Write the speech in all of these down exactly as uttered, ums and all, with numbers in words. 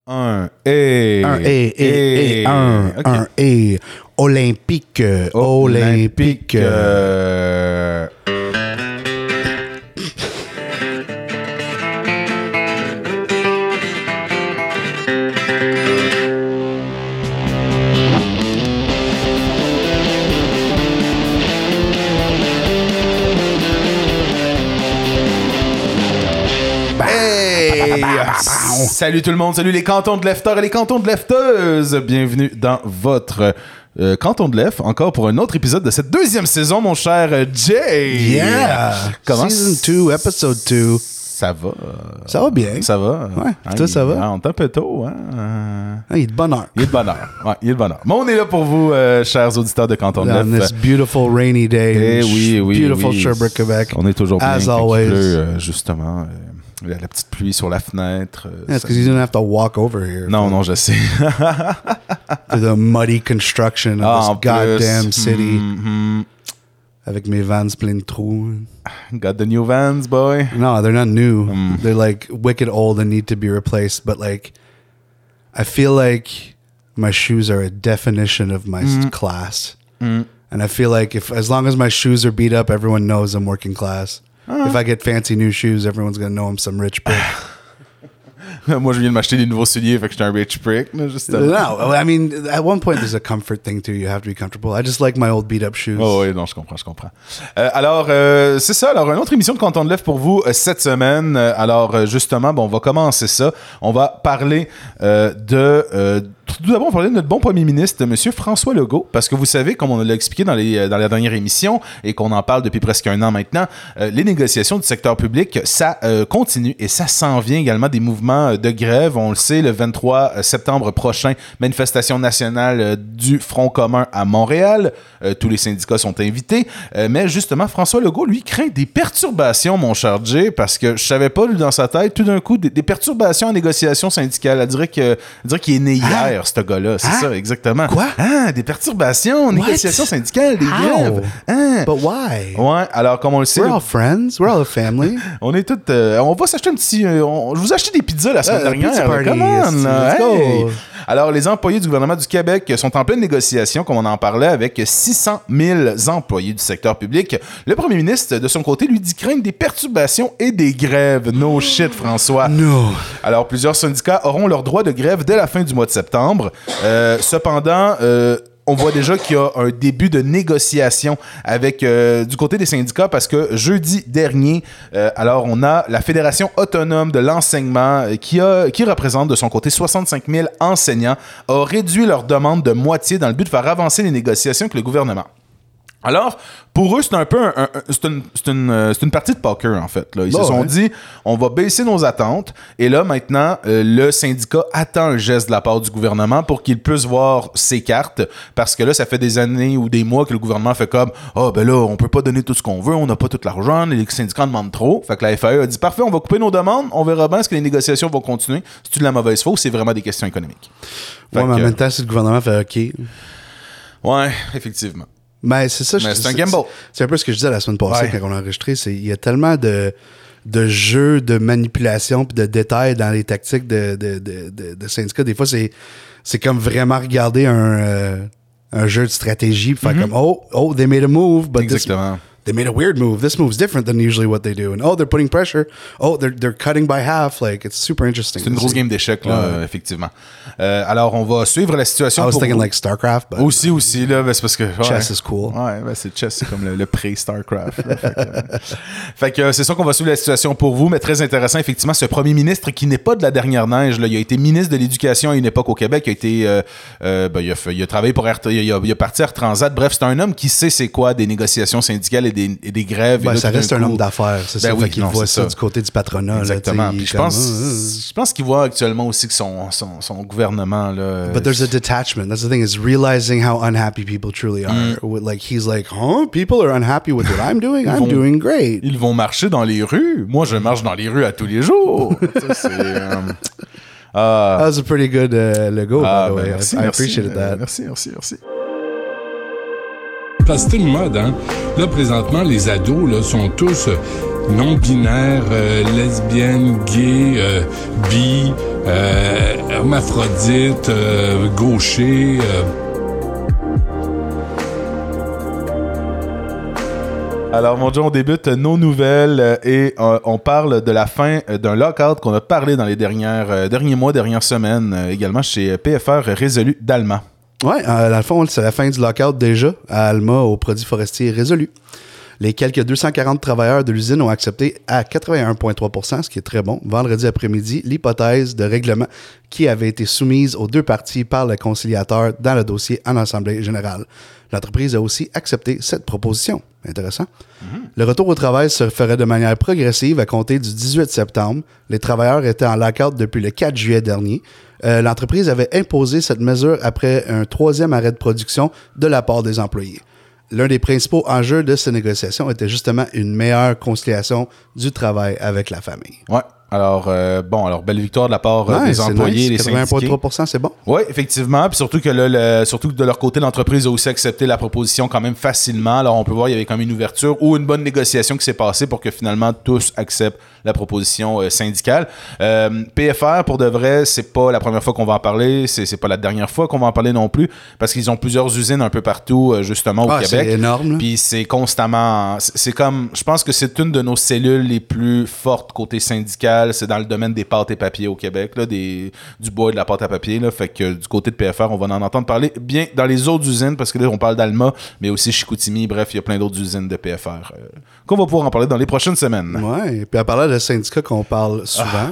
Un et un et et et un okay. un et olympique olympique. Euh... Salut tout le monde, salut les cantons de lefteurs et les cantons de lefteuses. Bienvenue dans votre euh, canton de left, encore pour un autre épisode de cette deuxième saison, mon cher Jay. Yeah! Comment Season deux, episode deux. Ça va. Ça va bien. Ça va. Ouais, hein, toi, ça il, va? hein, on est un peu tôt, hein? Euh... Ah, il est de bonne heure. Il est de bonne heure. Ouais, il est de bonne heure. Mais on est là pour vous, euh, chers auditeurs de Canton de On Left. this beautiful rainy day. Eh oui, oui, Beautiful oui. Sherbrooke, Québec. On est toujours bien As quand always. il pleut, euh, justement. Euh, la, la petite pluie sur la fenêtre. Euh, Yeah, it's because you didn't have to walk over here. non, non, je sais. To the muddy construction of Ah, this en goddamn plus. city. Mm-hmm. Avec mes vans pleins de trous. Got the new Vans, boy. No, they're not new. Mm. They're like wicked old and need to be replaced. But like, I feel like my shoes are a definition of my Mm. class. Mm. And I feel like if as long as my shoes are beat up, everyone knows I'm working class. Uh. If I get fancy new shoes, everyone's gonna know I'm some rich prick. Moi, je viens de m'acheter des nouveaux souliers, fait que j'étais un rich prick, là, justement. No, I mean, at one point, there's a comfort thing too. You have to be comfortable. I just like my old beat up shoes. Oh oui, non, je comprends, je comprends. Euh, alors, euh, c'est ça. Alors, une autre émission de Canton de Left pour vous euh, cette semaine. Euh, alors, euh, justement, bon, on va commencer ça. On va parler euh, de... Euh, tout d'abord, on va parler de notre bon premier ministre, M. François Legault, parce que vous savez, comme on l'a expliqué dans, les, dans la dernière émission, et qu'on en parle depuis presque un an maintenant, euh, les négociations du secteur public, ça euh, continue, et ça s'en vient également des mouvements de grève. On le sait, le vingt-trois septembre prochain, manifestation nationale euh, du Front commun à Montréal. Euh, tous les syndicats sont invités, euh, mais justement, François Legault, lui, craint des perturbations, mon cher Jay, parce que je savais pas, lui, dans sa tête, tout d'un coup, des, des perturbations en négociations syndicales. Elle dirait que, elle dirait qu'il est né hier. Hein? Ce gars-là, c'est Hein? ça, exactement. Quoi? Ah, des perturbations, négociations syndicales, des How? grèves. Hein? But why? Ouais, alors comme on le sait, We're all friends. We're all a family. on est tous, euh, on va s'acheter un petit, euh, on, je vous ai acheté des pizzas la semaine Uh, dernière. pizza party, Come on, yes, là, let's hey. go. Alors, les employés du gouvernement du Québec sont en pleine négociation, comme on en parlait, avec six cent mille employés du secteur public. Le premier ministre, de son côté, lui dit craindre des perturbations et des grèves. No shit, François. No. Alors, plusieurs syndicats auront leur droit de grève dès la fin du mois de septembre. Euh, cependant, euh, on voit déjà qu'il y a un début de négociation avec euh, du côté des syndicats parce que jeudi dernier, euh, alors on a la Fédération autonome de l'enseignement euh, qui, a, qui représente de son côté soixante-cinq mille enseignants, a réduit leur demande de moitié dans le but de faire avancer les négociations avec le gouvernement. Alors, pour eux, c'est un peu un, un, c'est, une, c'est, une, euh, c'est une partie de poker, en fait. Là. Ils oh, se sont ouais. dit, on va baisser nos attentes. Et là, maintenant, euh, le syndicat attend un geste de la part du gouvernement pour qu'il puisse voir ses cartes. Parce que là, ça fait des années ou des mois que le gouvernement fait comme « Ah, oh, ben là, on peut pas donner tout ce qu'on veut, on n'a pas tout l'argent, les syndicats en demandent trop. » Fait que la F A E a dit « Parfait, on va couper nos demandes, on verra bien est-ce que les négociations vont continuer. C'est-tu de la mauvaise foi ou c'est vraiment des questions économiques? » Ouais, mais en même temps, si le gouvernement fait OK. Ouais, effectivement. Mais c'est ça. Mais je, c'est un gamble. C'est un peu ce que je disais la semaine passée Ouais. quand on a enregistré. C'est, il y a tellement de, de jeux, de manipulation puis de détails dans les tactiques de, de, de, de, de syndicats. Des fois, c'est, c'est comme vraiment regarder un, euh, un jeu de stratégie puis faire Mm-hmm. comme oh, oh, they made a move, but Exactement. this, they made a weird move. This move's different than usually what they do. And oh, they're putting pressure. Oh, they're, they're cutting by half. Like, it's super interesting. C'est une grosse game d'échecs, là, Ouais. euh, effectivement. Euh, alors, on va suivre la situation. I was pour thinking vous. like StarCraft, but Aussi, aussi, là, ben, c'est parce que... Ouais. chess is cool. Ouais, ben, c'est chess, c'est comme le, le pré-StarCraft. là. Fait que, euh, fait que euh, c'est ça qu'on va suivre la situation pour vous, mais très intéressant, effectivement, ce premier ministre qui n'est pas de la dernière neige, là, il a été ministre de l'Éducation à une époque au Québec, il a été... Euh, euh, ben, il, a fait, il a travaillé pour Air, il a, il a parti à Air Transat. Bref, c'est un homme qui sait c'est quoi des négociations syndicales et des, et des grèves. Ben, et là, ça tout d'un reste un coup- homme d'affaires, c'est Ben ça. oui, Fait qu'il non, voit c'est ça, ça. du côté du patronat. Exactement. Là, Puis il je est comme, pense, Ah, ah. je pense qu'il voit actuellement aussi que son, son, son gouvernement, là... But there's a detachment. That's the thing, is realizing how unhappy people truly are. With, like, he's like, huh? People are unhappy with what I'm doing? I'm vont- doing great. Ils vont marcher dans les rues. Moi, je marche dans les rues à tous les jours. Ça, c'est, euh, ah, That was a pretty good uh, logo, ah, by the ben, way. merci, I, I merci, appreciated euh, that. Merci, merci, merci. Parce que c'est une mode, hein. Là, présentement, les ados, là, sont tous euh, non-binaires, euh, lesbiennes, gays, euh, bi, euh, hermaphrodite, euh, gaucher. Euh. Alors, mon Dieu, on débute nos nouvelles euh, et euh, on parle de la fin euh, d'un lockout qu'on a parlé dans les dernières, euh, derniers mois, dernières semaines, euh, également chez P F R Résolu d'Alma. Oui, euh, dans le fond, c'est la fin du lockout déjà à Alma aux produits forestiers résolus. Les quelques deux cent quarante travailleurs de l'usine ont accepté à quatre-vingt-un virgule trois pour cent, ce qui est très bon, vendredi après-midi, l'hypothèse de règlement qui avait été soumise aux deux parties par le conciliateur dans le dossier en Assemblée générale. L'entreprise a aussi accepté cette proposition. Intéressant. Mm-hmm. Le retour au travail se ferait de manière progressive à compter du dix-huit septembre. Les travailleurs étaient en lockout depuis le quatre juillet dernier. Euh, l'entreprise avait imposé cette mesure après un troisième arrêt de production de la part des employés. L'un des principaux enjeux de ces négociations était justement une meilleure conciliation du travail avec la famille. Ouais. Alors, euh, bon, alors, belle victoire de la part euh, ouais, des employés, nice. des syndiqués. quatre-vingt-un virgule trois pour cent, c'est bon. Oui, effectivement. Puis surtout que là, le, surtout que de leur côté, l'entreprise a aussi accepté la proposition quand même facilement. Alors, on peut voir, il y avait quand même une ouverture ou une bonne négociation qui s'est passée pour que finalement tous acceptent la proposition euh, syndicale. Euh, P F R, pour de vrai, c'est pas la première fois qu'on va en parler. C'est, c'est pas la dernière fois qu'on va en parler non plus parce qu'ils ont plusieurs usines un peu partout, euh, justement, au ah, Québec. C'est énorme. Puis c'est constamment... C'est, c'est comme... Je pense que c'est une de nos cellules les plus fortes côté syndical. C'est dans le domaine des pâtes et papiers au Québec, là, des, du bois et de la pâte à papier. Là, fait que euh, du côté de P F R, on va en entendre parler bien dans les autres usines, parce que là, on parle d'Alma, mais aussi Chicoutimi. Bref, il y a plein d'autres usines de P F R euh, qu'on va pouvoir en parler dans les prochaines semaines. Oui, et puis à parler de syndicats qu'on parle souvent,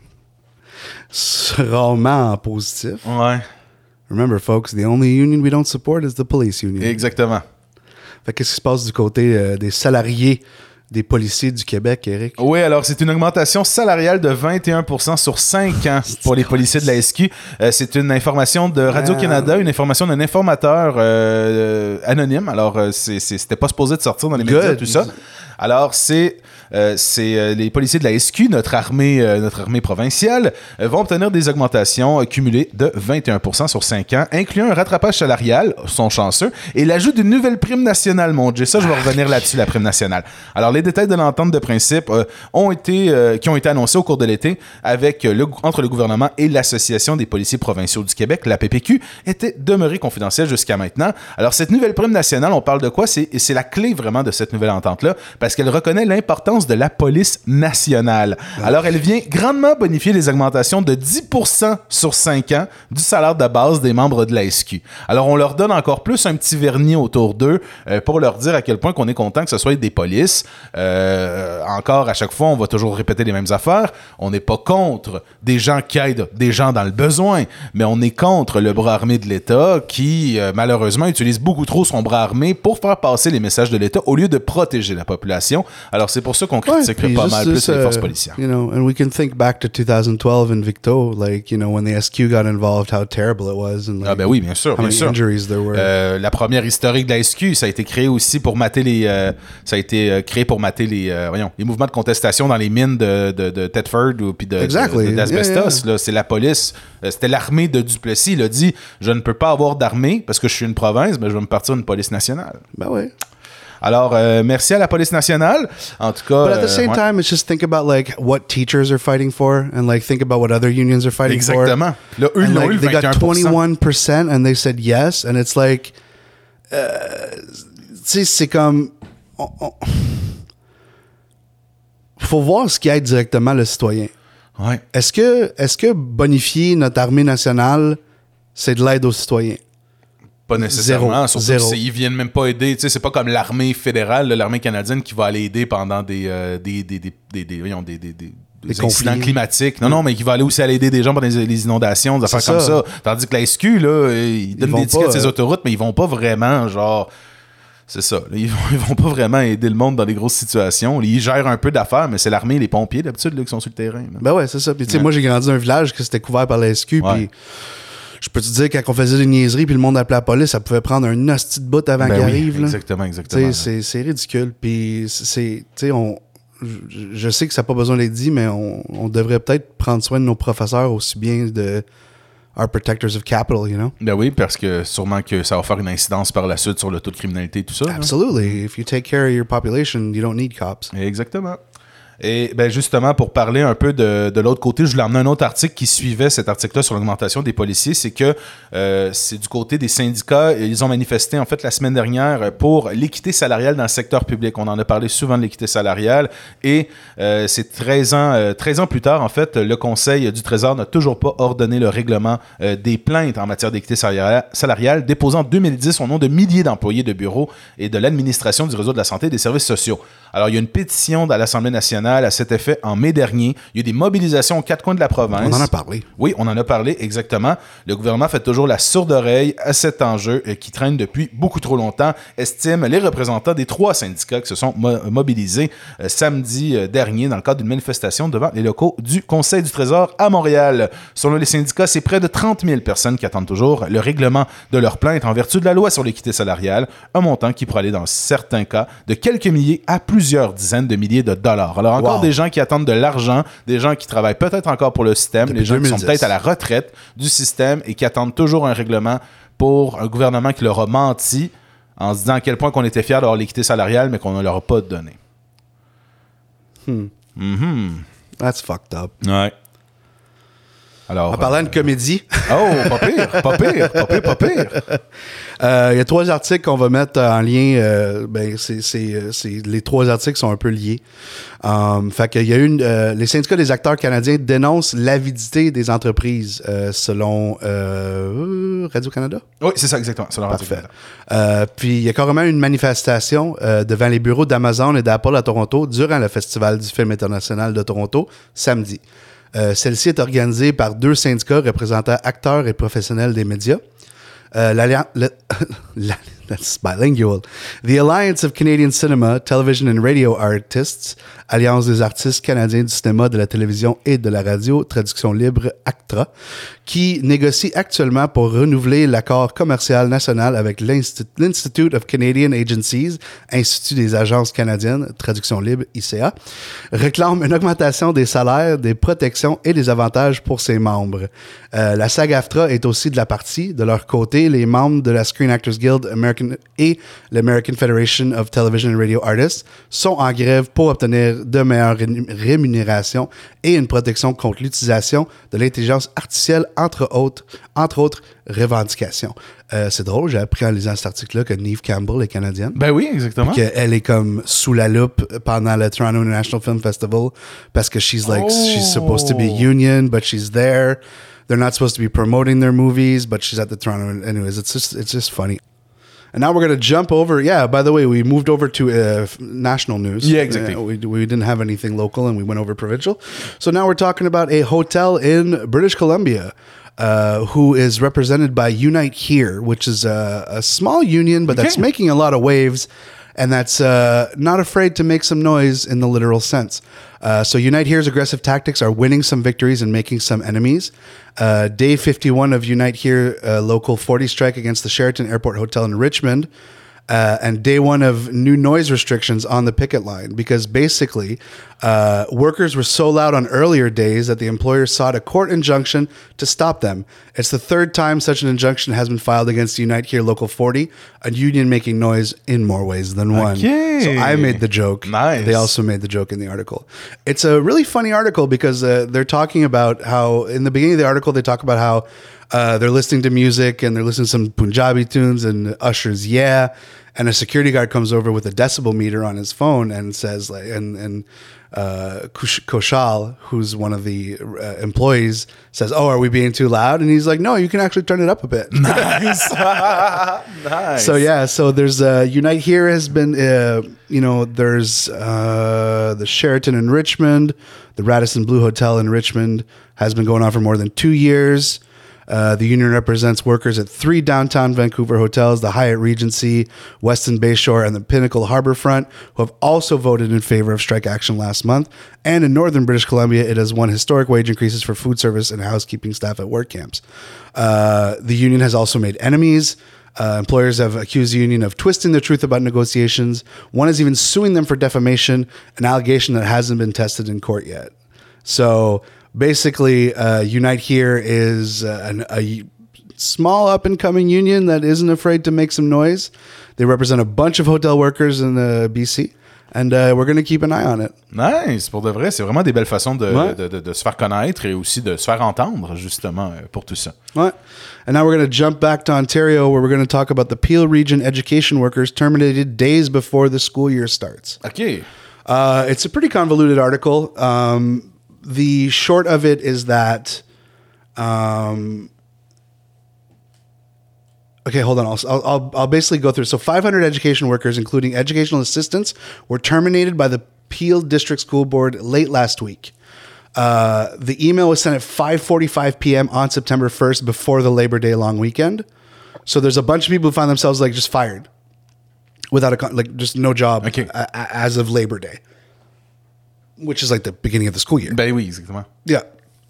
ah. rarement en positif. Ouais. Remember, folks, the only union we don't support is the police union. Exactement. Fait qu'est-ce qui se passe du côté euh, des salariés des policiers du Québec, Eric? Oui, alors c'est une augmentation salariale de vingt et un pour cent sur cinq ans pour les policiers de la S Q. Euh, c'est une information de Radio-Canada, une information d'un informateur euh, anonyme. Alors, euh, c'est, c'est, c'était pas supposé de sortir dans les médias, tout ça. Alors, c'est, euh, c'est euh, les policiers de la S Q, notre armée, euh, notre armée provinciale, euh, vont obtenir des augmentations euh, cumulées de vingt et un pour cent sur cinq ans, incluant un rattrapage salarial, sont chanceux, et l'ajout d'une nouvelle prime nationale, mon Dieu. Ça, je vais revenir là-dessus, la prime nationale. Alors, les détails de l'entente de principe euh, ont été, euh, qui ont été annoncés au cours de l'été avec, euh, le, entre le gouvernement et l'Association des policiers provinciaux du Québec, la P P Q, étaient demeurées confidentielles jusqu'à maintenant. Alors, cette nouvelle prime nationale, on parle de quoi? C'est, c'est la clé vraiment de cette nouvelle entente-là, parce qu'elle reconnaît l'importance de la police nationale. Alors, elle vient grandement bonifier les augmentations de dix pour cent sur cinq ans du salaire de base des membres de la S Q. Alors, on leur donne encore plus un petit vernis autour d'eux euh, pour leur dire à quel point qu'on est content que ce soit des polices. Euh, encore, à chaque fois, on va toujours répéter les mêmes affaires. On n'est pas contre des gens qui aident des gens dans le besoin, mais on est contre le bras armé de l'État qui, euh, malheureusement, utilise beaucoup trop son bras armé pour faire passer les messages de l'État au lieu de protéger la population. Alors, c'est pour ça qu'on critiquerait ouais, pas mal plus uh, les forces policières. You know, and we can think back to twenty twelve in Victo, like, you know, when the S Q got involved, how terrible it was. And, like, ah ben oui, bien sûr, how bien many sûr. Injuries there were. Euh, la première historique de la S Q, ça a été créé aussi pour mater les... Euh, ça a été euh, créé pour mater les, euh, voyons, les mouvements de contestation dans les mines de, de, de Thetford ou puis de, exactly. de, de, d'asbestos. Yeah, yeah. Là, c'est la police. Euh, c'était l'armée de Duplessis. Il a dit, je ne peux pas avoir d'armée parce que je suis une province, mais je vais me partir une police nationale. Ben oui. Alors, euh, merci à la police nationale. En tout cas... But at the same euh, ouais. time, it's just think about, like, what teachers are fighting for and, like, think about what other unions are fighting Exactement. for. Exactement. Là, eux, and, ils ont like, eu le they vingt et un pour cent. got twenty-one percent and they said yes. And it's like... Uh, tu sais, c'est comme... On, on, faut voir ce qui aide directement le citoyen. Ouais. Est-ce que, est-ce que bonifier notre armée nationale, c'est de l'aide aux citoyens? Pas nécessairement, Zéro. surtout Zéro. qu'ils viennent même pas aider. Tu sais, c'est pas comme l'armée fédérale, l'armée canadienne qui va aller aider pendant des euh, des des des des, des, voyons, des, des, des, des, des incidents conflits. Climatiques. Non, non, mais qui va aller aussi aller aider des gens pendant les, les inondations, des affaires comme ça. Tandis que la S Q, là, ils donnent ils des tickets de ces autoroutes, mais ils vont pas vraiment, genre... C'est ça. Là, ils, vont, ils vont pas vraiment aider le monde dans des grosses situations. Ils gèrent un peu d'affaires, mais c'est l'armée et les pompiers, d'habitude, là, qui sont sur le terrain. Là. Ben ouais, c'est ça. Puis tu sais, ouais. moi, j'ai grandi dans un village que c'était couvert par la S Q, ouais. puis... Je peux te dire, quand on faisait des niaiseries puis le monde appelait la police, ça pouvait prendre un hostie de bout avant ben qu'il oui, arrive. Là. Exactement, exactement. C'est, c'est ridicule. Puis, c'est, on, je, je sais que ça n'a pas besoin d'être dit, mais on, on devrait peut-être prendre soin de nos professeurs aussi bien de our protectors of capital, you know? Ben oui, parce que sûrement que ça va faire une incidence par la suite sur le taux de criminalité et tout ça. Absolutely. Hein? If you take care of your population, you don't need cops. Exactement. Et ben justement, pour parler un peu de, de l'autre côté, je voulais emmener un autre article qui suivait cet article-là sur l'augmentation des policiers. C'est que euh, c'est du côté des syndicats. Ils ont manifesté en fait la semaine dernière pour l'équité salariale dans le secteur public. On en a parlé souvent de l'équité salariale. Et euh, c'est treize ans, euh, treize ans plus tard, en fait, le Conseil du Trésor n'a toujours pas ordonné le règlement euh, des plaintes en matière d'équité salariale, salariale déposées en deux mille dix au nom de milliers d'employés de bureaux et de l'administration du réseau de la santé et des services sociaux. Alors, il y a une pétition à l'Assemblée nationale à cet effet en mai dernier. Il y a eu des mobilisations aux quatre coins de la province. On en a parlé. Oui, on en a parlé, exactement. Le gouvernement fait toujours la sourde oreille à cet enjeu euh, qui traîne depuis beaucoup trop longtemps, estiment les représentants des trois syndicats qui se sont mo- mobilisés euh, samedi euh, dernier dans le cadre d'une manifestation devant les locaux du Conseil du Trésor à Montréal. Selon les syndicats, c'est près de trente mille personnes qui attendent toujours le règlement de leur plainte en vertu de la loi sur l'équité salariale, un montant qui pourrait aller dans certains cas de quelques milliers à plusieurs dizaines de milliers de dollars. Alors encore Wow. des gens qui attendent de l'argent, des gens qui travaillent peut-être encore pour le système, Depuis les gens deux mille dix. qui sont peut-être à la retraite du système et qui attendent toujours un règlement pour un gouvernement qui leur a menti en se disant à quel point qu'on était fiers d'avoir l'équité salariale, mais qu'on ne leur a pas donné. Hmm. Mm-hmm. That's fucked up. Ouais. Alors, En parlant de comédie, oh, pas pire, pas pire, pas pire, pas pire. euh, il y a trois articles qu'on va mettre en lien. Euh, ben, c'est, c'est, euh, c'est, les trois articles sont un peu liés. Um, fait qu'il y a une, euh, les syndicats des acteurs canadiens dénoncent l'avidité des entreprises, euh, selon euh, Radio-Canada. Oui, c'est ça, exactement. C'est leur Parfait. article. Euh, puis il y a carrément une manifestation euh, devant les bureaux d'Amazon et d'Apple à Toronto durant le Festival du film international de Toronto samedi. Euh, celle-ci est organisée par deux syndicats représentant acteurs et professionnels des médias. Euh, l'alliance... Le, la, that's bilingual. The Alliance of Canadian Cinema, Television and Radio Artists, Alliance des artistes canadiens du cinéma, de la télévision et de la radio, traduction libre ACTRA, qui négocie actuellement pour renouveler l'accord commercial national avec l'Insti- l'Institute of Canadian Agencies, Institut des agences canadiennes, traduction libre I C A, réclame une augmentation des salaires, des protections et des avantages pour ses membres. Euh, la SAG-AFTRA est aussi de la partie. De leur côté, les membres de la Screen Actors Guild American et l'American Federation of Television and Radio Artists sont en grève pour obtenir de meilleures ré- rémunérations et une protection contre l'utilisation de l'intelligence artificielle, entre autres, entre autres revendications. Euh, c'est drôle, j'ai appris en lisant cet article-là que Neve Campbell est canadienne. Ben oui, exactement. Qu'elle est comme sous la loupe pendant le Toronto International Film Festival parce que she's like, Oh. she's supposed to be union, but she's there. They're not supposed to be promoting their movies, but she's at the Toronto. Anyways, it's just it's just funny. And now we're going to jump over. Yeah, by the way, we moved over to uh, f- national news. Yeah, exactly. Uh, we, we didn't have anything local and we went over provincial. So now we're talking about a hotel in British Columbia uh, who is represented by Unite Here, which is a, a small union, but that's Okay. making a lot of waves. And that's uh, not afraid to make some noise in the literal sense. Uh, so Unite Here's aggressive tactics are winning some victories and making some enemies. Uh, day fifty-one of Unite Here uh, Local forty strike against the Sheraton Airport Hotel in Richmond. Uh, and day one of new noise restrictions on the picket line because basically uh, workers were so loud on earlier days that the employer sought a court injunction to stop them. It's the third time such an injunction has been filed against Unite Here Local forty, a union making noise in more ways than one. Okay. So I made the joke. Nice. They also made the joke in the article. It's a really funny article because uh, they're talking about how, in the beginning of the article, they talk about how uh, they're listening to music and they're listening to some Punjabi tunes and Usher's Yeah. And a security guard comes over with a decibel meter on his phone and says, like, and and uh, Kush- Koshal, who's one of the uh, employees, says, "Oh, are we being too loud?" And he's like, "No, you can actually turn it up a bit." Nice. Nice. So yeah, so there's uh, Unite Here has been, uh, you know, there's uh, the Sheraton in Richmond, the Radisson Blu Hotel in Richmond has been going on for more than two years. Uh, the union represents workers at three downtown Vancouver hotels, the Hyatt Regency, Westin Bayshore, and the Pinnacle Harbourfront, who have also voted in favor of strike action last month. And in northern British Columbia, it has won historic wage increases for food service and housekeeping staff at work camps. Uh, the union has also made enemies. Uh, employers have accused the union of twisting the truth about negotiations. One is even suing them for defamation, an allegation that hasn't been tested in court yet. So basically, uh, Unite Here is uh, an, a small up-and-coming union that isn't afraid to make some noise. They represent a bunch of hotel workers in the B C. And uh, we're going to keep an eye on it. Nice, pour de vrai, c'est vraiment des belles façons de, Ouais. de, de, de se faire connaître et aussi de se faire entendre, justement, euh, pour tout ça. What? And now we're going to jump back to Ontario, where we're going to talk about the Peel Region education workers terminated days before the school year starts. OK. Uh, it's a pretty convoluted article. Um, the short of it is that... Um, okay, hold on. I'll, I'll, I'll basically go through. So five hundred education workers, including educational assistants, were terminated by the Peel District School Board late last week. Uh, the email was sent at five forty-five p.m. on September first before the Labor Day long weekend. So there's a bunch of people who find themselves like just fired without a, con- like just no job Okay. a- a- as of Labor Day, which is like the beginning of the school year. Ben oui, exactement. Yeah.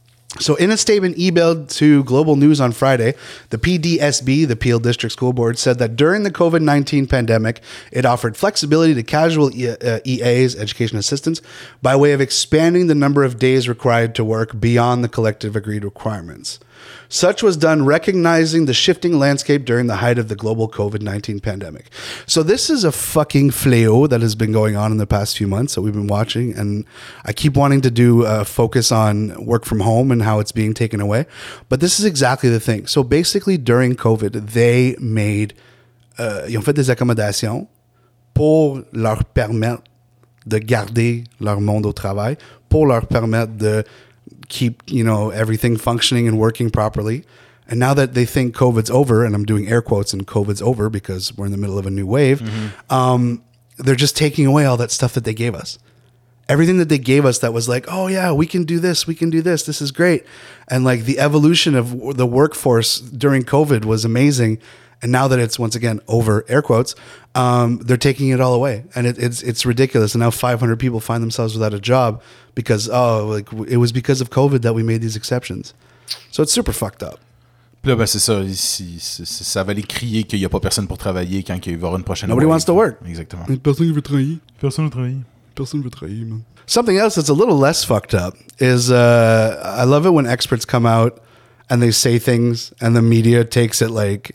So in a statement emailed to Global News on Friday, the P D S B, the Peel District School Board, said that during the COVID nineteen pandemic, it offered flexibility to casual E- uh, E As, education assistants, by way of expanding the number of days required to work beyond the collective agreed requirements. Such was done recognizing the shifting landscape during the height of the global COVID nineteen pandemic. So this is a fucking fléau that has been going on in the past few months that we've been watching. And I keep wanting to do a focus on work from home and how it's being taken away. But this is exactly the thing. So basically during COVID, they made, uh, ils ont fait des accommodations pour leur permettre de garder leur monde au travail, pour leur permettre de keep, you know, everything functioning and working properly. And now that they think COVID's over, and I'm doing air quotes and COVID's over because we're in the middle of a new wave, mm-hmm. um, they're just taking away all that stuff that they gave us. Everything that they gave us that was like, oh yeah, we can do this, we can do this, this is great. And like the evolution of the workforce during COVID was amazing. And now that it's once again over, air quotes, um, they're taking it all away, and it, it's it's ridiculous. And now five hundred people find themselves without a job because oh, like it was because of COVID that we made these exceptions. So it's super fucked up. Puis là, ben, c'est ça. Ici, c'est, c'est, ça va aller crier qu'il n'y a pas personne pour travailler quand il va y avoir une prochaine. Nobody wave. wants to work. Exactement. Personne veut travailler. Personne veut travailler. Personne veut travailler, man. Something else that's a little less fucked up is uh, I love it when experts come out and they say things and the media takes it like.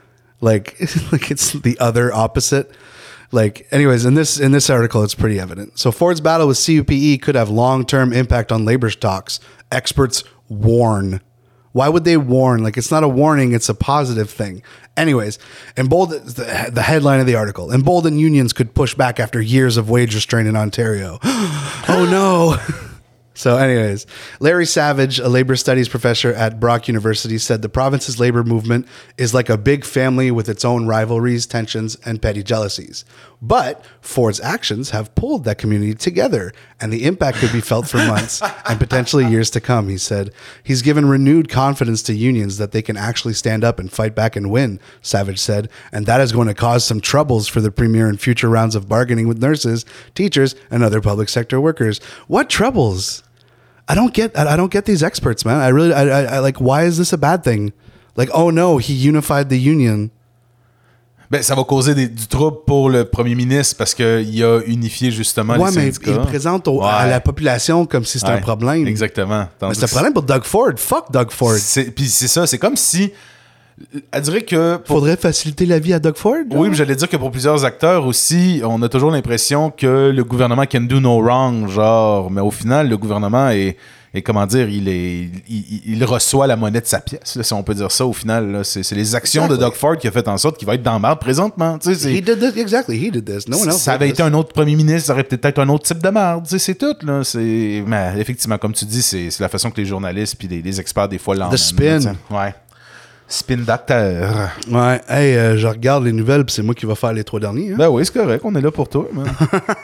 Like, like it's the other opposite. Like, anyways, in this in this article, it's pretty evident. So Ford's battle with C U P E could have long-term impact on labor talks. Experts warn. Why would they warn? Like, it's not a warning, it's a positive thing. Anyways, emboldened, the, the headline of the article, emboldened unions could push back after years of wage restraint in Ontario. Oh, no. So anyways, Larry Savage, a labor studies professor at Brock University, said the province's labor movement is like a big family with its own rivalries, tensions, and petty jealousies. But Ford's actions have pulled that community together, and the impact could be felt for months and potentially years to come, he said. He's given renewed confidence to unions that they can actually stand up and fight back and win, Savage said, and that is going to cause some troubles for the premier in future rounds of bargaining with nurses, teachers, and other public sector workers. What troubles? I don't get. I don't get these experts, man. I really. I, I, I like. Why is this a bad thing? Like, oh no, he unified the union. Ben, ça va causer des, du trouble pour le premier ministre parce qu'il a unifié justement Ouais, les mais syndicats. il présente au- Ouais. à la population comme si c'était Ouais, un problème. Exactement. Mais Tandis c'est un problème pour Doug Ford. Fuck Doug Ford. c'est, puis c'est ça, c'est comme si... Elle dirait que... Pour, Faudrait faciliter la vie à Doug Ford. oui, mais j'allais dire que pour plusieurs acteurs aussi, on a toujours l'impression que le gouvernement can do no wrong, genre, mais au final, le gouvernement est... Et comment dire, il, est, il, il reçoit la monnaie de sa pièce, là, si on peut dire ça au final. Là. C'est, c'est les actions Exactly. de Doug Ford qui a fait en sorte qu'il va être dans la merde présentement. Tu sais, c'est, He did this. Exactly, he did this. No one else ça did avait this. été un autre premier ministre, ça aurait peut-être été un autre type de merde. Tu sais, c'est tout. Là. C'est, mais effectivement, comme tu dis, c'est, c'est la façon que les journalistes puis les, les experts, des fois, l'emmènent. The spin. Là, ouais. Spin doctor. Ouais. Hey, euh, je regarde les nouvelles, puis c'est moi qui vais faire les trois derniers. Hein? Ben oui, c'est correct. On est là pour toi. Man.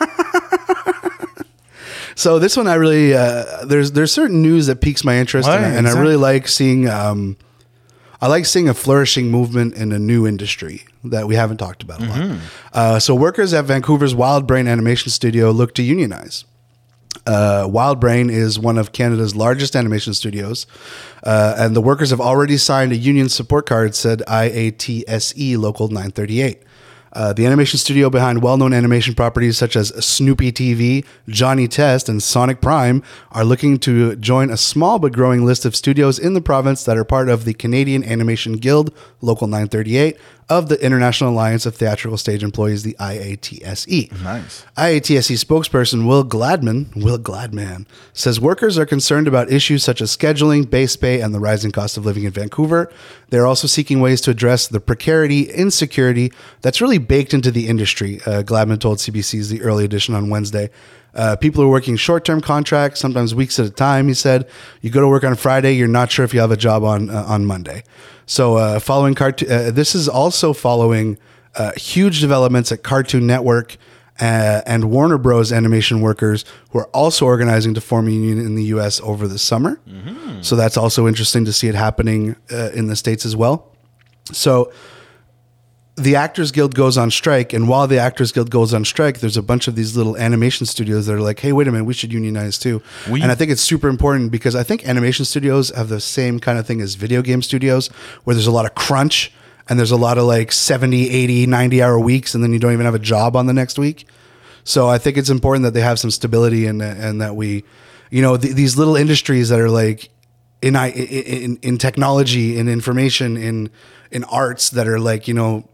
So this one, I really uh, there's there's certain news that piques my interest, Ouais, and, I- and I exact. really like seeing um, I like seeing a flourishing movement in a new industry that we haven't talked about a lot. Uh, so workers at Vancouver's Wild Brain Animation Studio look to unionize. Uh, Wild Brain is one of Canada's largest animation studios, uh, and the workers have already signed a union support card, said I A T S E Local nine thirty-eight. Uh, the animation studio behind well-known animation properties such as Snoopy T V, Johnny Test, and Sonic Prime are looking to join a small but growing list of studios in the province that are part of the Canadian Animation Guild, Local nine thirty-eight, of the International Alliance of Theatrical Stage Employees, the I A T S E. Nice. I A T S E spokesperson Will Gladman, Will Gladman, says workers are concerned about issues such as scheduling, base pay, and the rising cost of living in Vancouver. They're also seeking ways to address the precarity, insecurity that's really baked into the industry, uh, Gladman told C B C's The Early Edition on Wednesday. Uh, people are working short-term contracts, sometimes weeks at a time, he said. You go to work on Friday, you're not sure if you have a job on uh, on Monday. So uh, following cartoon, uh, this is also following uh, huge developments at Cartoon Network uh, and Warner Bros. Animation workers who are also organizing to form a union in the U S over the summer. Mm-hmm. So that's also interesting to see it happening uh, in the States as well. So the Actors Guild goes on strike, and while the Actors Guild goes on strike, there's a bunch of these little animation studios that are like, hey, wait a minute, we should unionize too. We- and I think it's super important because I think animation studios have the same kind of thing as video game studios, where there's a lot of crunch and there's a lot of like seventy, eighty, ninety hour weeks, and then you don't even have a job on the next week. So I think it's important that they have some stability and and that we, you know, th- these little industries that are like in, in in technology, in information, in in arts that are like, you know,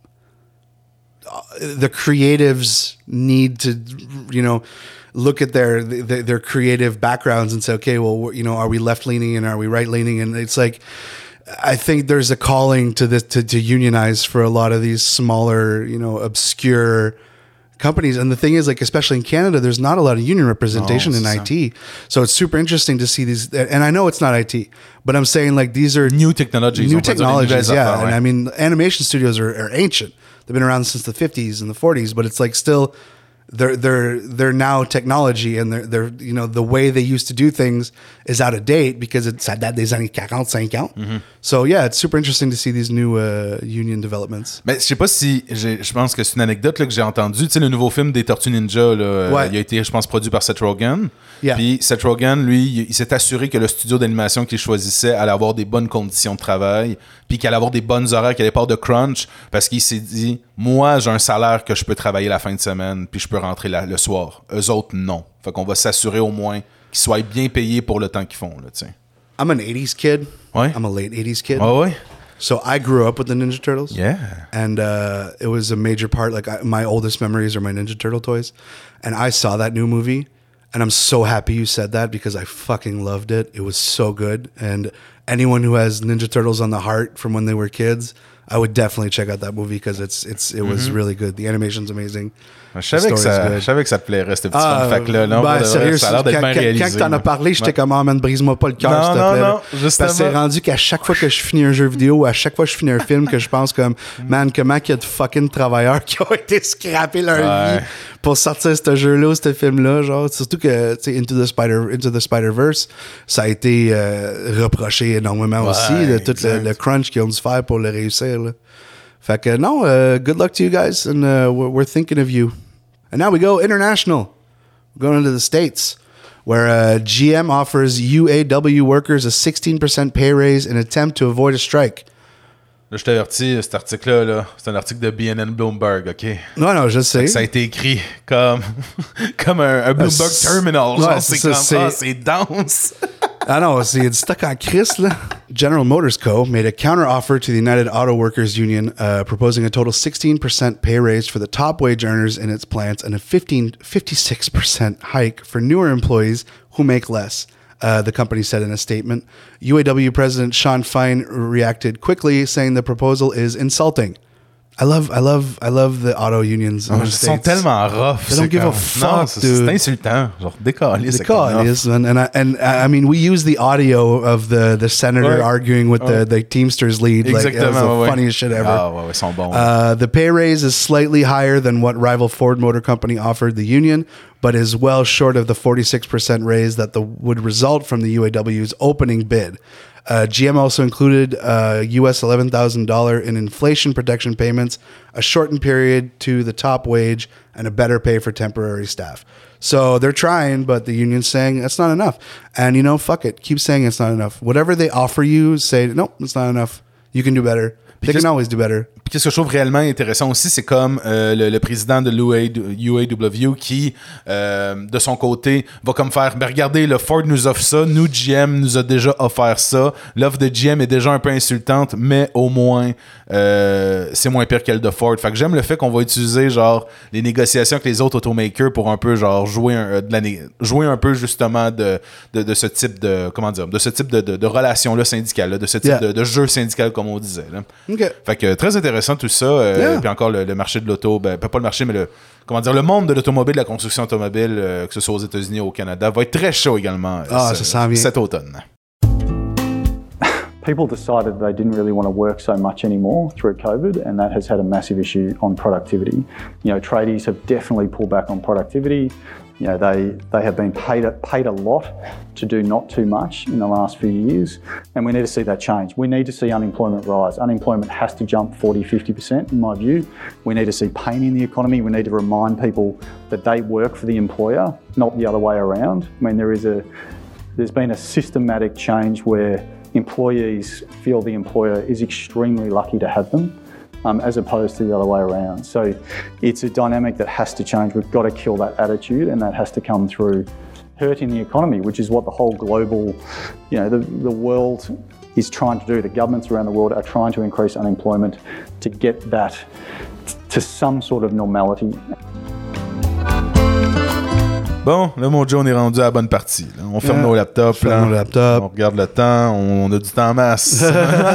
the creatives need to, you know, look at their, their their creative backgrounds and say, okay, well, you know, are we left leaning and are we right leaning? And it's like, I think there's a calling to this to, to unionize for a lot of these smaller, you know, obscure companies. And the thing is, like, especially in Canada, there's not a lot of union representation oh, in I T. So it's super interesting to see these. And I know it's not I T, but I'm saying like these are new technologies. New technologies, yeah. And I mean, animation studios are, are ancient. They've been around since the fifties and the forties, but it's like still they're they're they're now technology, and they're they're you know, the way they used to do things is out of date because it's ça date des années quarante, cinquante. Mm-hmm. So yeah, it's super interesting to see these new uh, union developments. Mais je sais pas si j'ai, je pense que c'est une anecdote là, que j'ai entendue. Tu sais, le nouveau film des Tortues Ninja, là, ouais. il a été, je pense, produit par Seth Rogen. Yeah. Puis Seth Rogen, lui, il, il s'est assuré que le studio d'animation qu'il choisissait allait avoir des bonnes conditions de travail, puis qu'il allait avoir des bonnes horaires, qu'il allait pas de crunch, parce qu'il s'est dit, moi, j'ai un salaire que je peux travailler la fin de semaine, puis je peux rentrer la, le soir. Eux autres, non. Fait qu'on va s'assurer au moins qu'ils soient bien payés pour le temps qu'ils font, là, tu sais. I'm an eighties kid. Ouais. I'm a late eighties kid. Oh, ouais. So I grew up with the Ninja Turtles. Yeah. And uh, it was a major part. Like I, my oldest memories are my Ninja Turtle toys. And I saw that new movie. And I'm so happy you said that because I fucking loved it. It was so good. And anyone who has Ninja Turtles on the heart from when they were kids, I would definitely check out that movie because it's it's it was mm-hmm. really good. The animation's amazing. Je savais, que ça, je savais que ça te plairait, ce petit ah, fun fact-là. Non, ben, sérieux, ça a l'air d'être quand, bien réalisé. Quand t'en as parlé, j'étais ouais. comme, oh man, brise-moi pas le cœur, s'il te plaît. Non, non, justement. Parce que c'est rendu qu'à chaque fois que je finis un jeu vidéo ou à chaque fois que je finis un film, que je pense comme, man, comment qu'il y a de fucking travailleurs qui ont été scrappés leur ouais. vie pour sortir ce jeu-là ou ce film-là. Genre, surtout que, tu sais, Into the Spider, Into the Spider-Verse, ça a été euh, reproché énormément ouais, aussi, de tout le, le crunch qu'ils ont dû faire pour le réussir. Là. Fait que non, uh, good luck to you guys, and uh, we're, we're thinking of you. And now we go international. We're going into the States, where uh, G M offers U A W workers a sixteen percent pay raise in an attempt to avoid a strike. Là, je t'avertis, cet article-là, là, c'est un article de B N N Bloomberg, OK? Non, non, je sais. Ça a été écrit comme, comme un, un Bloomberg uh, Terminal. Genre, ouais, c'est, c'est comme, c'est... ah, c'est dense. I know, c'est stuck on Chris, là. General Motors Co. made a counter-offer to the United Auto Workers Union, uh, proposing a total sixteen percent pay raise for the top wage earners in its plants and a fifteen, fifty-six percent hike for newer employees who make less. Uh, the company said in a statement. U A W President Sean Fine reacted quickly, saying the proposal is insulting. I love, I love, I love the auto unions. Oh, ils sont tellement rough. They don't give comme... a fuck, non, c'est, dude. C'est insultant. Genre, décalisse. Décalisse. And, and, I, and I mean, we use the audio of the, the senator ouais. arguing with ouais. the, the Teamsters lead. Exactement. Like, it was the ouais. funniest shit ever. Ah, ouais, ils sont bons. Uh, the pay raise is slightly higher than what rival Ford Motor Company offered the union, but is well short of the forty-six percent raise that the, would result from the U A W's opening bid. Uh, G M also included uh, U S eleven thousand dollars in inflation protection payments, a shortened period to the top wage, and a better pay for temporary staff. So they're trying, but the union's saying that's not enough. And, you know, fuck it. Keep saying it's not enough. Whatever they offer you, say, nope, it's not enough. You can do better. They can always do better. qu'est-ce que je trouve réellement intéressant aussi, c'est comme euh, le, le président de l'U A W qui, euh, de son côté, va comme faire, ben regardez, le Ford nous offre ça, nous, G M nous a déjà offert ça, l'offre de G M est déjà un peu insultante, mais au moins, euh, c'est moins pire qu'elle de Ford. Fait que j'aime le fait qu'on va utiliser, genre, les négociations avec les autres automakers pour un peu, genre, jouer un, de la né- jouer un peu, justement, de, de, de ce type de, comment dire, de ce type de, de, de relation-là syndicale, là, de ce type Yeah. de, de jeu syndical, comme on disait, là. OK. Fait que très intéressant tout ça. Euh, Yeah. Puis encore le, le marché de l'auto, ben, pas le marché, mais le, comment dire, le monde de l'automobile, de la construction automobile, euh, que ce soit aux États-Unis ou au Canada, va être très chaud également euh, Ah, ce- ça s'en vient. cet automne. People decided they didn't really want to work so much anymore through COVID, and that has had a massive issue on productivity. You know, tradies have definitely pulled back on productivity. You know, they, they have been paid a, paid a lot to do not too much in the last few years, and we need to see that change. We need to see unemployment rise. Unemployment has to jump forty, fifty percent in my view. We need to see pain in the economy. We need to remind people that they work for the employer, not the other way around. I mean, there is a, there's been a systematic change where employees feel the employer is extremely lucky to have them, um, as opposed to the other way around. So it's a dynamic that has to change. We've got to kill that attitude, and that has to come through hurting the economy, which is what the whole global, you know, the, the world is trying to do. The governments around the world are trying to increase unemployment to get that t- to some sort of normality. Bon, là, mon Joe, on est rendu à la bonne partie. Là. On ferme Yeah. nos laptops. Ferme là. nos laptops. On regarde le temps. On, on a du temps en masse.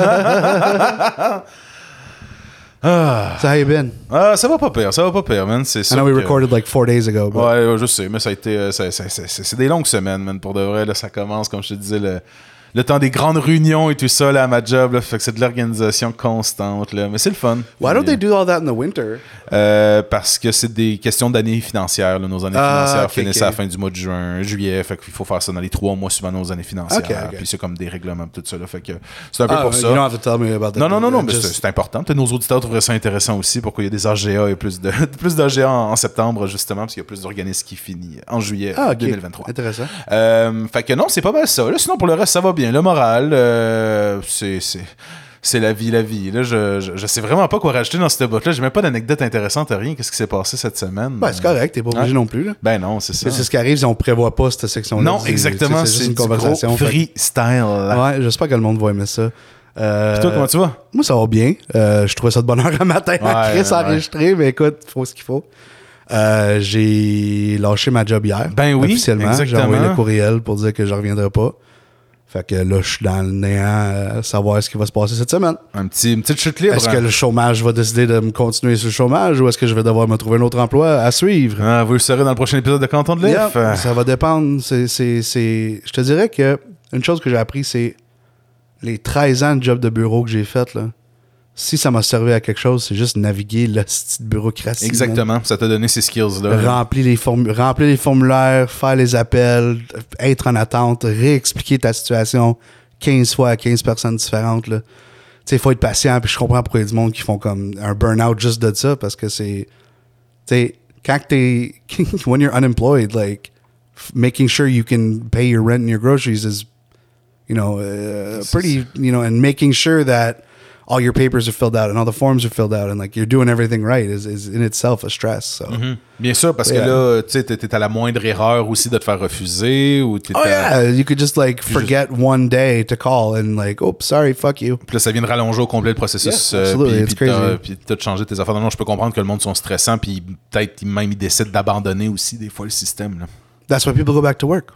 ah. So how you been? Ah, ça va pas pire. Ça va pas pire, man. C'est I sûr know we que- recorded like four days ago, but Ouais, je sais, mais ça a été. euh, ça- ça- ça- c'est c'est des longues semaines, man. Pour de vrai, là, ça commence, comme je te disais, le, le temps des grandes réunions et tout ça, là, à ma job. Là, fait que c'est de l'organisation constante, là. Mais c'est le fun. why don't Puis, they do all that in the winter? euh, parce que c'est des questions d'années financières. Là. Nos années Ah, financières ok, finissent ok. à la fin du mois de juin, juillet. Fait qu'il faut faire ça dans les trois mois suivant nos années financières. Ok, ok. Puis c'est comme des règlements, tout ça. Là. Fait que c'est un peu Ah, pour you ça. don't have to tell me about that. Non, non, non, non, mais Just- c'est c'est important. Peut-être nos auditeurs trouveraient ça intéressant aussi. Pourquoi il y a des A G A et plus de plus d'A G A en, en septembre, justement, parce qu'il y a plus d'organismes qui finissent en juillet Ah, ok. deux mille vingt-trois. Intéressant. Euh, fait que non, c'est pas mal ça. Là, sinon, pour le reste, ça va bien. Le moral, euh, c'est, c'est, c'est la vie, la vie. Là, je, je, je sais vraiment pas quoi rajouter dans cette boîte-là. J'ai même pas d'anecdote intéressante, rien. Qu'est-ce qui s'est passé cette semaine? Ben, c'est correct, t'es pas obligé Ouais. non plus. Là. Ben non, c'est ça. Mais c'est ce qui arrive si on prévoit pas cette section-là. Non, C'est- exactement. C'est, c'est C'est, juste une du conversation. gros fait- freestyle. Ouais, j'espère que le monde va aimer ça. Euh, Puis toi, comment tu vas? Moi, ça va bien. Euh, je trouvais ça de bonne heure un matin à Ouais, Chris ouais. enregistré, mais écoute, il faut ce qu'il faut. Euh, j'ai lâché ma job hier. Ben oui, officiellement. J'ai exactement. envoyé le courriel pour dire que je reviendrai pas. Fait que là, je suis dans le néant à savoir ce qui va se passer cette semaine. Un petit, une petite chute libre. Est-ce hein? que le chômage va décider de me continuer sur le chômage ou est-ce que je vais devoir me trouver un autre emploi à suivre? Ah, vous le saurez dans le prochain épisode de Canton de L'If. Yeah, ça va dépendre. C'est, c'est, c'est... Je te dirais que une chose que j'ai appris, c'est les treize ans de job de bureau que j'ai fait, là. Si ça m'a servi à quelque chose, c'est juste naviguer la petite bureaucratie. man. Exactement. Ça t'a donné ces skills-là. Remplir les, formu- remplir les formulaires, faire les appels, être en attente, réexpliquer ta situation quinze fois à quinze personnes différentes. Tu sais, il faut être patient, puis je comprends pourquoi il y a du monde qui font comme un burn-out juste de ça, parce que c'est... Tu sais, quand t'es... when you're unemployed, like, f- making sure you can pay your rent and your groceries is, you know, uh, pretty, you know, and making sure that all your papers are filled out and all the forms are filled out and like you're doing everything right is, is in itself a stress. So. Mhm. Bien sûr, parce Yeah. que là, tu sais, t'es t'es à la moindre erreur aussi de te faire refuser ou t'es Oh à- yeah, you could just like forget one day to call and like, oh, sorry, fuck you. Puis là, ça vient de rallonger au complet le processus. Yeah, euh, absolutely, puis, it's puis t'as, crazy. puis t'as de changer tes affaires. Non, non, je peux comprendre que le monde sont stressants, puis peut-être même ils décident d'abandonner aussi des fois le système. Là. That's why people go back to work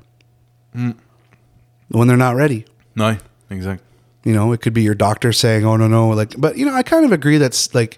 when they're not ready. Ouais, exact. You know, it could be your doctor saying, oh, no, no. Like, but, you know, I kind of agree that's like,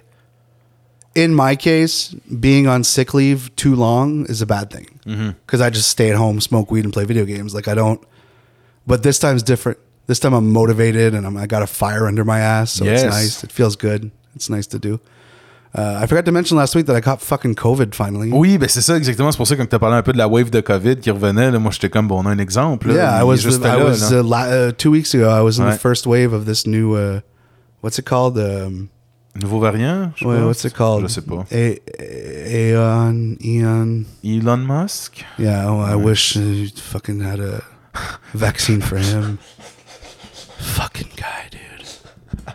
in my case, being on sick leave too long is a bad thing. Because I just stay at home, smoke weed, and play video games. Like, I don't. But this time's different. This time I'm motivated and I'm, I got a fire under my ass. So Yes. it's nice. It feels good. It's nice to do. Uh, I forgot to mention last week that I caught fucking COVID finally. Oui, ben c'est ça exactement. C'est pour ça que quand t'as parlé un peu de la wave de COVID qui revenait, là, moi j'étais comme, bon, on a un exemple. Là, Yeah, Il I est was. juste The, I là, was là. uh, la- uh, two weeks ago. I was in Ouais. the first wave of this new. Uh, what's it called? Um, Nouveau variant, je sais Wait, pas. what's it called? Je sais pas. A- A- Aeon, Eon. Elon Musk? Yeah, oh, I wish uh, you fucking had a vaccine for him. Fucking guy, dude.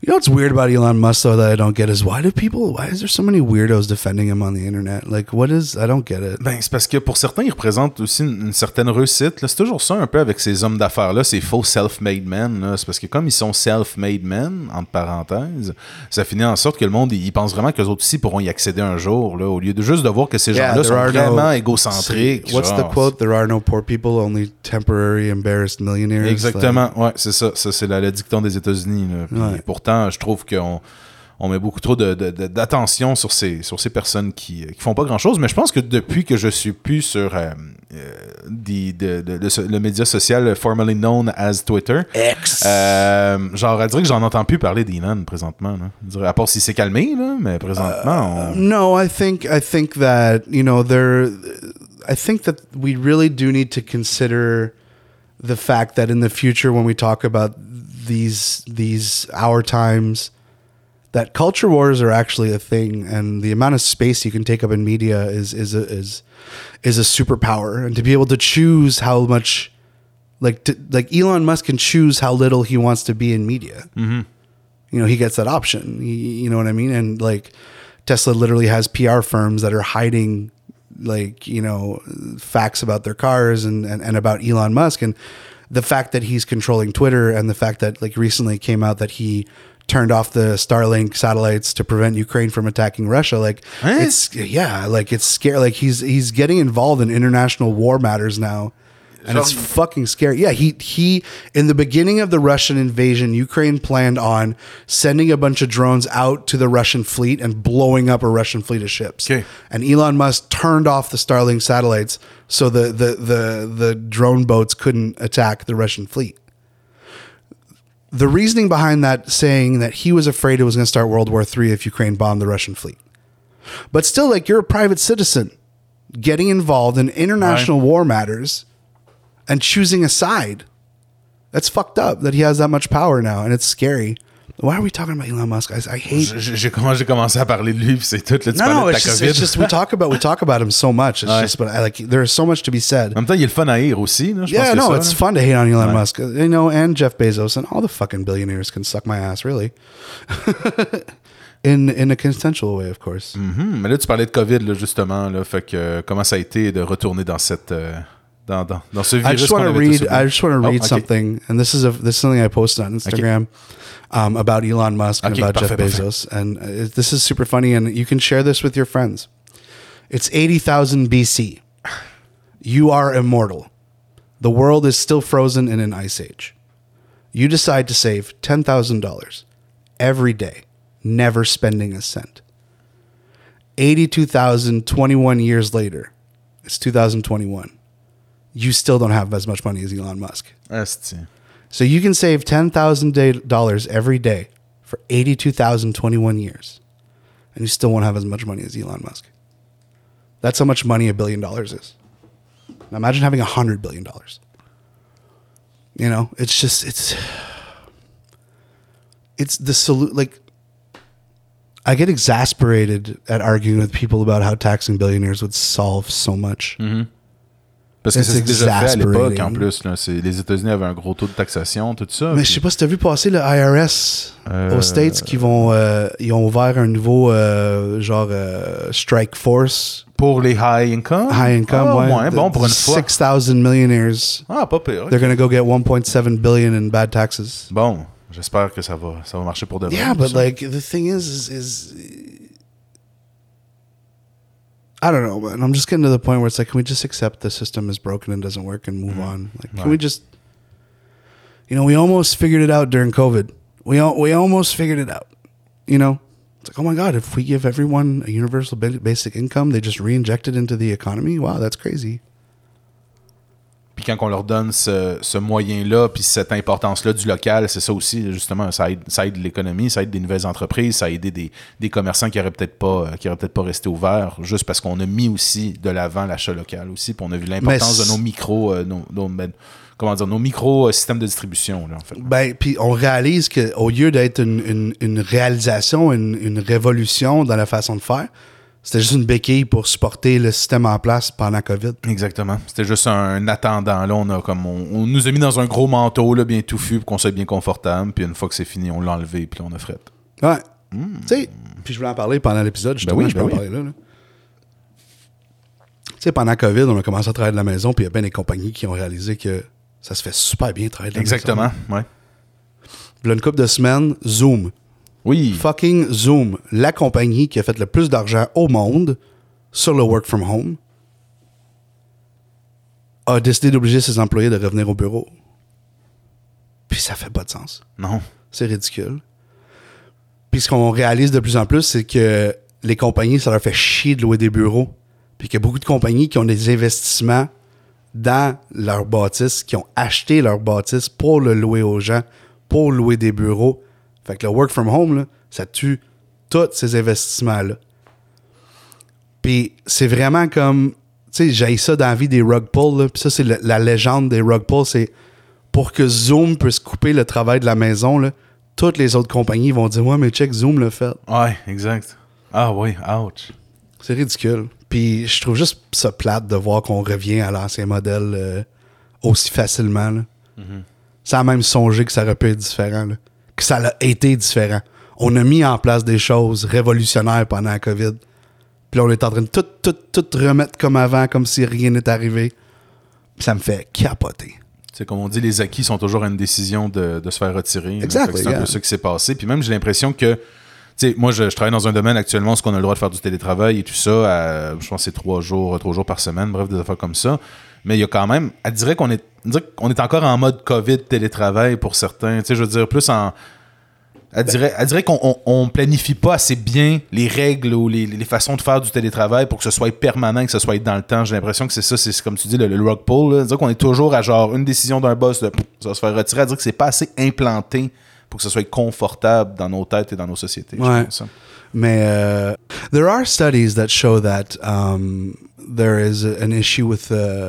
You know what's weird about Elon Musk though that I don't get is why do people why is there so many weirdos defending him on the internet? Like what is I don't get it. Ben c'est parce que pour certains il représente aussi une, une certaine réussite. Là, c'est toujours ça un peu avec ces hommes d'affaires là, ces faux self-made men. Là. C'est parce que comme ils sont self-made men entre parenthèses, ça finit en sorte que le monde il pense vraiment que les autres aussi pourront y accéder un jour là, au lieu de juste de voir que ces Yeah, gens-là there sont are vraiment no- égocentriques. What's genre. the quote? There are no poor people, only temporary embarrassed millionaires. Exactement, ouais, c'est ça. Ça, c'est la, le dicton des États-Unis. Là. Puis Ouais. Pourtant, je trouve qu'on on met beaucoup trop de, de, de, d'attention sur ces, sur ces personnes qui, qui font pas grand-chose. Mais je pense que depuis que je suis plus sur euh, euh, des- de, de- de ce- le média social formerly known as Twitter, X. euh, genre, à dire que j'en entends plus parler d'Elon présentement. Là. Je dirais, à part s'il s'est calmé, là, mais présentement, on... No, I think I think that you know there. I think that we really do need to consider the fact that in the future, when we talk about these these our times, that culture wars are actually a thing, and the amount of space you can take up in media is is a, is is a superpower, and to be able to choose how much, like to, like Elon Musk can choose how little he wants to be in media. Mm-hmm. You know, he gets that option. He, you know what I mean? And like Tesla literally has P R firms that are hiding like, you know, facts about their cars and, and, and about Elon Musk. And the fact that he's controlling Twitter and the fact that like recently it came out that he turned off the Starlink satellites to prevent Ukraine from attacking Russia. Like Eh? it's, yeah, like it's scary. Like he's, he's getting involved in international war matters now. And it's fucking scary. Yeah, he he in the beginning of the Russian invasion, Ukraine planned on sending a bunch of drones out to the Russian fleet and blowing up a Russian fleet of ships. Okay. And Elon Musk turned off the Starlink satellites so the the the the drone boats couldn't attack the Russian fleet. The reasoning behind that saying that he was afraid it was going to start World War Three if Ukraine bombed the Russian fleet. But still, like, you're a private citizen getting involved in international war matters and choosing a side. That's fucked up that he has that much power now, and it's scary. Why are we talking about Elon Musk? I, I hate. J'ai, j'ai, comment j'ai commencé à parler de lui, puis c'est tout. Là, tu No, parlais no, de ta it's just, COVID. it's just we talk about we talk about him so much. It's Ouais. just, but I like there is so much to be said. En même temps, il est le fun à haïr aussi. Là, je Yeah, pense que no, ça, it's là. fun to hate on Elon Ouais. Musk, you know, and Jeff Bezos and all the fucking billionaires can suck my ass, really. in in a consensual way, of course. Mhm. Mais là, tu parlais de COVID, là, justement. Là, fait que, euh, comment ça a été de retourner dans cette... euh, dans, dans, dans ce virus I just qu'on want to avait tous read. oublié? I just want to Oh, read okay. something, and this is a this is something I posted on Instagram um, about Elon Musk and Okay, about parfait, Jeff parfait. Bezos, and uh, it, this is super funny, and you can share this with your friends. It's eighty thousand B C. You are immortal. The world is still frozen in an ice age. You decide to save ten thousand dollars every day, never spending a cent. Eighty-two thousand twenty-one years later, it's two thousand twenty-one. You still don't have as much money as Elon Musk. Asti. So you can save ten thousand dollars every day for eighty-two thousand twenty-one years, and you still won't have as much money as Elon Musk. That's how much money a billion dollars is. Now imagine having a hundred billion dollars. You know, it's just, it's, it's the salute. Like, I get exasperated at arguing with people about how taxing billionaires would solve so much. Parce que It's c'est déjà fait à l'époque, exasperating. en plus. Là, c'est, les États-Unis avaient un gros taux de taxation, tout ça. Mais puis- je sais pas si t'as vu passer le I R S Euh, aux States qui vont euh, ils ont ouvert un nouveau euh, genre euh, strike force Pour les high income? high income Ah, ouais, ouais, bon, pour une fois. six thousand millionaires. Ah, pas pire. ok. They're gonna go get one point seven billion in bad taxes. Bon, j'espère que ça va, ça va marcher pour de vrai. Yeah, tout but ça. like the thing is, is, is I don't know, man. I'm just getting to the point where it's like, can we just accept the system is broken and doesn't work and move on? Like, can Right. we just, you know, we almost figured it out during COVID. We al- we almost figured it out. You know, it's like, oh my god, if we give everyone a universal ba- basic income, they just reinject it into the economy. Wow, that's crazy. Puis quand on leur donne ce, ce moyen-là, puis cette importance-là du local, c'est ça aussi, justement, ça aide, ça aide l'économie, ça aide des nouvelles entreprises, ça a aidé des, des commerçants qui auraient peut-être pas, qui auraient peut-être pas resté ouverts, juste parce qu'on a mis aussi de l'avant l'achat local aussi, puis on a vu l'importance Mais de nos micros, euh, nos, nos- ben, comment dire, nos micro euh, systèmes de distribution, là, en fait. Ben, puis on réalise qu'au lieu d'être une, une, une réalisation, une, une révolution dans la façon de faire, C'était juste une béquille pour supporter le système en place pendant COVID. Exactement. C'était juste un attendant. Là, on, a comme on, on nous a mis dans un gros manteau là, bien touffu pour qu'on soit bien confortable. Puis une fois que c'est fini, on l'a enlevé puis là, on a fret. Ouais. Mm. Tu sais, puis je voulais en parler pendant l'épisode. Justement, ben oui, je peux ben en oui. parler là. là. Tu sais, pendant COVID, on a commencé à travailler de la maison, puis il y a bien des compagnies qui ont réalisé que ça se fait super bien de travailler de la Exactement, maison. ouais. Puis là, une couple de semaines, Zoom. Oui. Fucking Zoom. La compagnie qui a fait le plus d'argent au monde sur le work from home a décidé d'obliger ses employés de revenir au bureau. Puis ça fait pas de sens. Non. C'est ridicule. Puis ce qu'on réalise de plus en plus, c'est que les compagnies, ça leur fait chier de louer des bureaux. Puis qu'il y a beaucoup de compagnies qui ont des investissements dans leur bâtisse, qui ont acheté leur bâtisse pour le louer aux gens, pour louer des bureaux. Fait que le work from home, là, ça tue tous ces investissements-là. Puis c'est vraiment comme, tu sais, j'ai ça dans la vie des rug pulls, là. Puis ça, c'est le, la légende des rug pulls, c'est pour que Zoom puisse couper le travail de la maison, là, toutes les autres compagnies vont dire « Ouais, mais check, Zoom l'a fait. » Ouais, exact. Ah oui, ouch. C'est ridicule. Puis je trouve juste ça plate de voir qu'on revient à l'ancien modèle euh, aussi facilement. Là. Mm-hmm. Sans même songer que ça aurait pu être différent. Là. Que ça a été différent. On a mis en place des choses révolutionnaires pendant la COVID. Puis là, on est en train de tout, tout, tout remettre comme avant, comme si rien n'était arrivé. Puis ça me fait capoter. C'est comme on dit, les acquis sont toujours à une décision de, de se faire retirer. Exactement. C'est un peu ça qui s'est passé. Puis même, j'ai l'impression que, tu sais, moi, je, je travaille dans un domaine actuellement où on a le droit de faire du télétravail et tout ça. À, je pense que c'est trois jours, trois jours par semaine, bref, des affaires comme ça. Mais il y a quand même, elle dirait qu'on est, on dirait qu'on est encore en mode COVID télétravail pour certains. Tu sais, je veux dire, plus en... Elle dirait, elle dirait qu'on on, on planifie pas assez bien les règles ou les, les façons de faire du télétravail pour que ce soit permanent, que ce soit dans le temps. J'ai l'impression que c'est ça, c'est comme tu dis, le, le rug pull. Là. C'est-à-dire qu'on est toujours à genre une décision d'un boss, de, ça va se faire retirer. Elle dirait que c'est pas assez implanté pour que ce soit confortable dans nos têtes et dans nos sociétés. Ouais. Mais uh, there are studies that show that um, there is a, an issue with uh,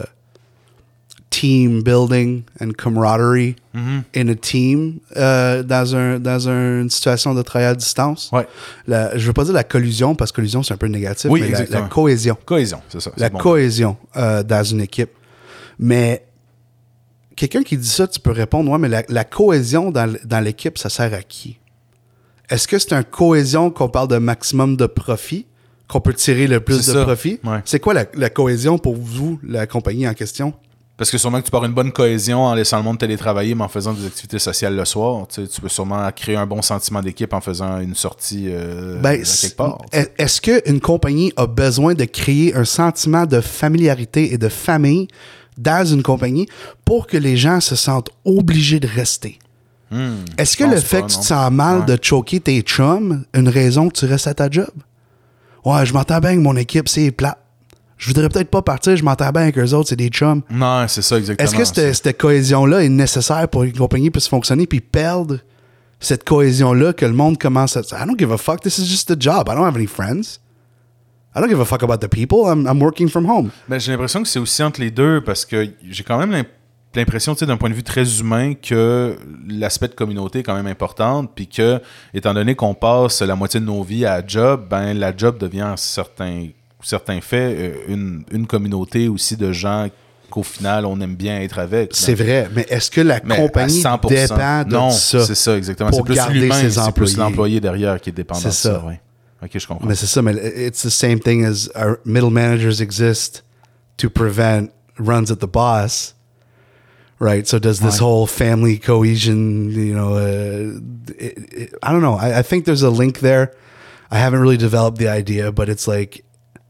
team building and camaraderie mm-hmm. in a team uh, dans, un, dans un, une situation de travail à distance. Ouais. La, je ne veux pas dire la collusion, parce que collusion, c'est un peu négatif, oui, mais la, la cohésion. Cohésion, c'est ça. C'est la bon. cohésion euh, dans une équipe. Mais quelqu'un qui dit ça, tu peux répondre, ouais, mais la, la cohésion dans, dans l'équipe, ça sert à qui? Est-ce que c'est une cohésion qu'on parle de maximum de profit, qu'on peut tirer le plus c'est de ça. profit? Ouais. C'est quoi la, la cohésion pour vous, la compagnie en question? Parce que sûrement que tu pars une bonne cohésion en laissant le monde télétravailler, mais en faisant des activités sociales le soir. Tu sais, tu peux sûrement créer un bon sentiment d'équipe en faisant une sortie euh, ben, quelque part. Est, est-ce qu'une compagnie a besoin de créer un sentiment de familiarité et de famille dans une compagnie pour que les gens se sentent obligés de rester? Hmm, est-ce que le fait pas, que tu te sens mal ouais. de choquer tes chums, une raison que tu restes à ta job? Ouais, je m'entends bien avec mon équipe, c'est plate. Je voudrais peut-être pas partir, je m'entends bien avec eux autres, c'est des chums. Non, c'est ça, exactement. Est-ce que cette, cette cohésion-là est nécessaire pour qu'une compagnie puisse fonctionner puis perdre cette cohésion-là que le monde commence à... I don't give a fuck, this is just a job. I don't have any friends. I don't give a fuck about the people, I'm, I'm working from home. Ben, j'ai l'impression que c'est aussi entre les deux parce que j'ai quand même l'impression, tu sais, d'un point de vue très humain, que l'aspect de communauté est quand même important, puis que, étant donné qu'on passe la moitié de nos vies à la job, ben la job devient certains... certains faits, une, une communauté aussi de gens qu'au final, on aime bien être avec. C'est vrai, mais est-ce que la mais compagnie dépend de non, ça? Non, c'est ça, exactement. C'est plus l'humain, c'est plus l'employé derrière qui est dépendant c'est de ça. ça. Ouais. OK, je comprends. Mais c'est ça, mais it's the same thing as our middle managers exist to prevent runs at the boss, right? So does this ouais. whole family cohesion, you know, uh, it, it, I don't know. I, I think there's a link there. I haven't really developed the idea, but it's like,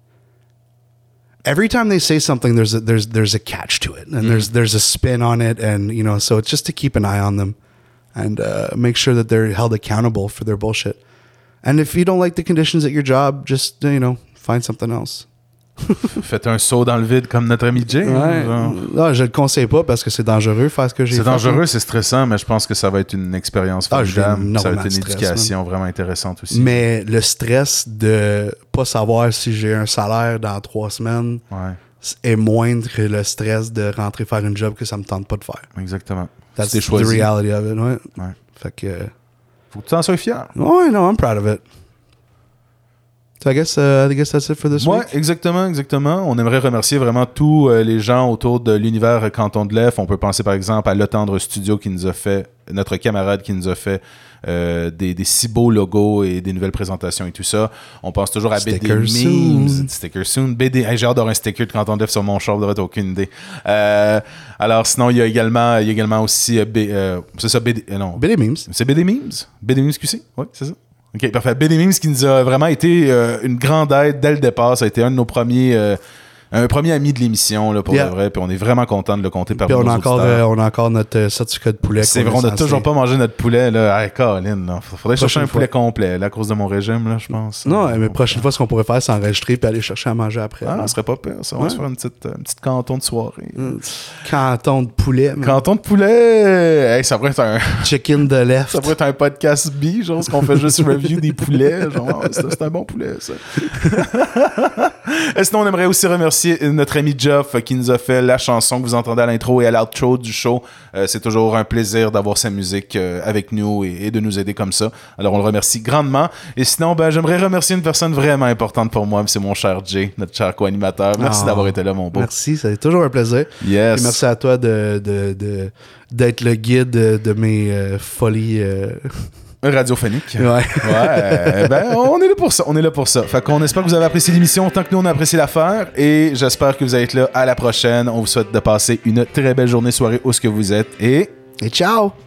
every time they say something, there's a, there's there's a catch to it, and mm. there's there's a spin on it, and you know, so it's just to keep an eye on them, and uh, make sure that they're held accountable for their bullshit. And if you don't like the conditions at your job, just you know, find something else. Faites un saut dans le vide comme notre ami Jay. Ouais. Non, je le conseille pas parce que c'est dangereux faire ce que j'ai fait. C'est dangereux, c'est stressant, mais je pense que ça va être une expérience formidable. Ah, ça va être une stress, éducation man. vraiment intéressante aussi. Mais le stress de pas savoir si j'ai un salaire dans trois semaines ouais. est moindre que le stress de rentrer faire une job que ça me tente pas de faire. Exactement. That's the reality of it. Ouais. Ouais. Fait que... Faut que tu en sois fier. Ouais, no, I'm proud of it. So I guess, uh, I guess that's it for this Ouais, week. exactement, exactement. On aimerait remercier vraiment tous euh, les gens autour de l'univers Canton de l'E F. On peut penser par exemple à Le Tendre Studio qui nous a fait, notre camarade qui nous a fait euh, des, des si beaux logos et des nouvelles présentations et tout ça. On pense toujours à B D Sticker Memes. soon. Sticker soon. B D, hey, j'ai hâte d'avoir un sticker de Canton de l'E F sur mon char, t'as aucune idée. Euh, alors sinon, il y a également, il y a également aussi, euh, B, euh, c'est ça, B D, euh, non. B D Memes. C'est B D Memes? B D Memes Q C? Oui, c'est ça. OK, parfait. B D Memes qui nous a vraiment été euh, une grande aide dès le départ. Ça a été un de nos premiers... Euh, un premier ami de l'émission, là, pour Yeah. de vrai. Puis on est vraiment content de le compter par Puis nos on a, encore, auditeurs. euh, on a encore notre euh, certificat de poulet. C'est qu'on vrai, on est n'a censé- toujours pas mangé notre poulet, là. Hey, Colin, là. Faudrait chercher un Prochaine poulet fois. complet, là, à cause de mon régime, là, je pense. Non, mais prochaine fois, ce qu'on pourrait faire, c'est enregistrer puis aller chercher à manger après. Ah, là. ça serait pas pire, ça. On va Ouais. se faire une petite, euh, une petite canton de soirée. Mm. Canton de poulet. man. Canton de poulet! Hey, ça pourrait être un... Chicken de left. Ça pourrait être un podcast B, genre, ce qu'on fait juste review des poulets. Genre, ah, c'est, c'est un bon poulet, ça. Et sinon, on aimerait aussi remercier notre ami Jeff euh, qui nous a fait la chanson que vous entendez à l'intro et à l'outro du show. Euh, c'est toujours un plaisir d'avoir sa musique euh, avec nous et, et de nous aider comme ça. Alors, on le remercie grandement. Et sinon, ben, j'aimerais remercier une personne vraiment importante pour moi, c'est mon cher Jay, notre cher co-animateur. Merci Oh. d'avoir été là, mon beau. Merci, c'est toujours un plaisir. Yes. Et merci à toi de, de, de- d'être le guide de, de mes euh, folies. euh. Radiophonique. Ouais. Ouais, ben on est là pour ça, on est là pour ça. Fait qu'on espère que vous avez apprécié l'émission autant que nous on a apprécié l'affaire et j'espère que vous allez être là à la prochaine. On vous souhaite de passer une très belle journée, soirée où ce que vous êtes et Et ciao!